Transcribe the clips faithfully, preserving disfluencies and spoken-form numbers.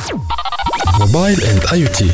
موبايل اند اي تي.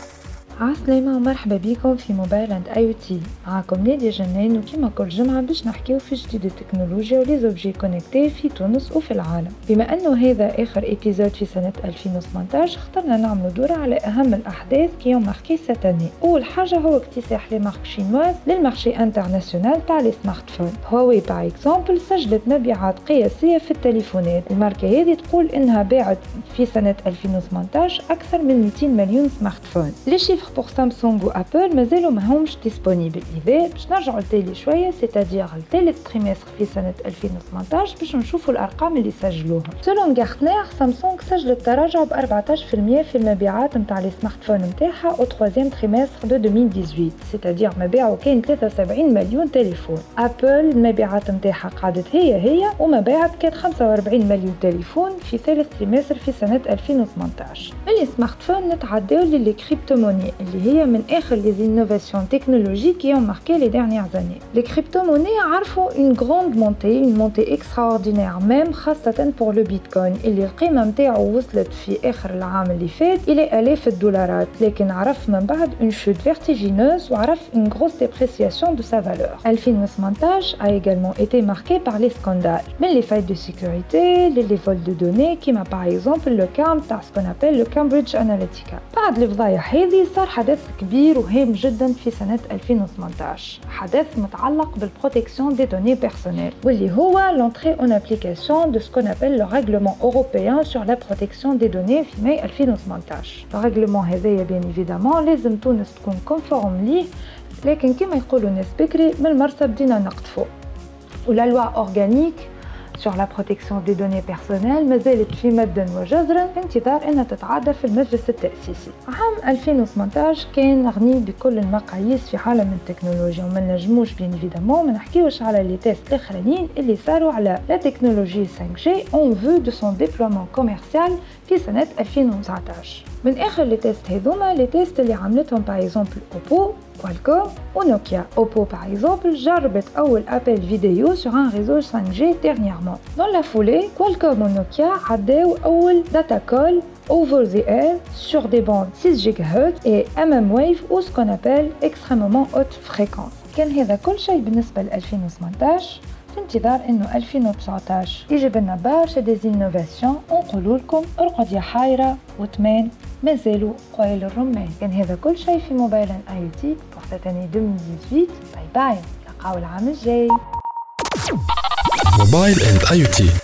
عسلامة ومرحبا بكم في موبايل اند اي تي. معكم نادية جنان، وكما كل جمعة باش نحكيو في جديد التكنولوجيا وليزوبجي كونكتي في تونس وفي العالم. بما انه هذا اخر ايبيزود في سنة ألفين وثمانية عشر، اخترنا نعملوا دورة على اهم الاحداث كي يوم ماركي ساتاني. اول حاجة هو اكتساح لي مارك شينواز للمارشي انترناسيونال تاع لي سمارت فون. هواوي باغ اكزومبل سجلت مبيعات قياسية في التليفونات. الماركة هذه تقول انها باعت في سنة ألفين وثمانية عشر اكثر من مئتين مليون سمارت فون. لي شيفر pour سامسونج وابل مازالوا ماهمش ديسپونيبل. اذا باش نرجعوا لتالي شويه سيتادير الثالث تريمستر في سنه ألفين وثمانية عشر باش نشوفوا الارقام اللي سجلوها. سولون غارتنر سامسونج سجلت تراجع ب أربعة عشر بالمئة في المبيعات نتاع لي سمارت فون نتاعها او ثالث تريمستر دو ألفين وثمانية عشر، سيتادير مبيعوا كان ثلاثة وسبعين مليون تليفون. ابل المبيعات نتاعها قعدت هي هي ومبيعات كانت خمسة وأربعين مليون تليفون في ثالث تريمستر في سنه ألفين وثمانية عشر. من لي سمارت فون نتعداو للي كريبتو موني اللي هي من اخر لي انوفاسيون تكنولوجيك qui ont marqué les dernières années. Les crypto-monnaies عرفوا une grande montée, une montée extraordinaire même خاصة pour le bitcoin اللي القيمة متاعو وصلت في اخر العام اللي فات الى الاف الدولارات، لكن عرف من بعد une chute vertigineuse وعرف une grosse dépréciation de sa valeur. ألفين وثمانية عشر a également été marqué par les scandales, من les failles de sécurité, les vols de données كما par exemple le cas تاع ce qu'on appelle le Cambridge Analytica. بعد الفضايح هذه صار حدث كبير وهام جدا في سنة ألفين وثمانية عشر، حدث متعلق بالبروتكسيون دي دوني بيرسونيل واللي هو l'entrée en application de ce qu'on appelle le règlement européen sur la protection des données في ماي ألفين وثمانية عشر. الرèglement هذايا بيان ايفيدامون لازم تونس تكون كونفورم ليه، لكن كما يقولوا الناس بكري من المرسى بدينا نقطفوا. ولا لوا اورغانيك sur la protection des données personnelles مازالت في مد وجزر في انتظار أنها تتعادل في المجلس التأسيسي. عام ألفين وثمانية عشر كان غني بكل المقاييس في عالم التكنولوجيا، وما نجموش بين ايفيدامون ما نحكيوش على لي تيست الاخرين اللي صاروا على لا تكنولوجي خمسة جي اون فو دو سون ديبلومون كوميرسيال في سنة ألفين وتسعة عشر. من اخر لي تيست هذوما لي تيست اللي عملتهم باغ اكزومبل اوبو، كوالكوم ونوكيا. اوبو باغ اكزومبل جربت اول ابل فيديو sur un réseau cinq G dernièrement. Dans la foulée, Qualcomm et Nokia عداو أول data call over the air sur des bandes six gigahertz et إم إم wave ou ce qu'on appelle extrêmement haute fréquence. كان هذا كل شيء بالنسبة ل ألفين وثمانية عشر. في انتظار انه ألفين وتسعة عشر يجيب لنا برشا ديز انوفاسيون ونقولوا لكم ارقد يا حايرة وتمان مازالوا قويل الرمان. كان هذا كل شيء في موبايل اي تي pour cette année ألفين وثمانية عشر. باي باي، نلقاو العام الجاي. موبايل اند اي تي.